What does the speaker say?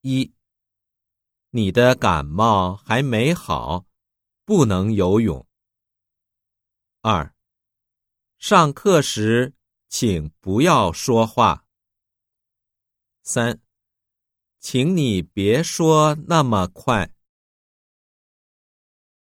1. 你的感冒还没好，不能游泳。2. 上课时请不要说话。3. 请你别说那么快。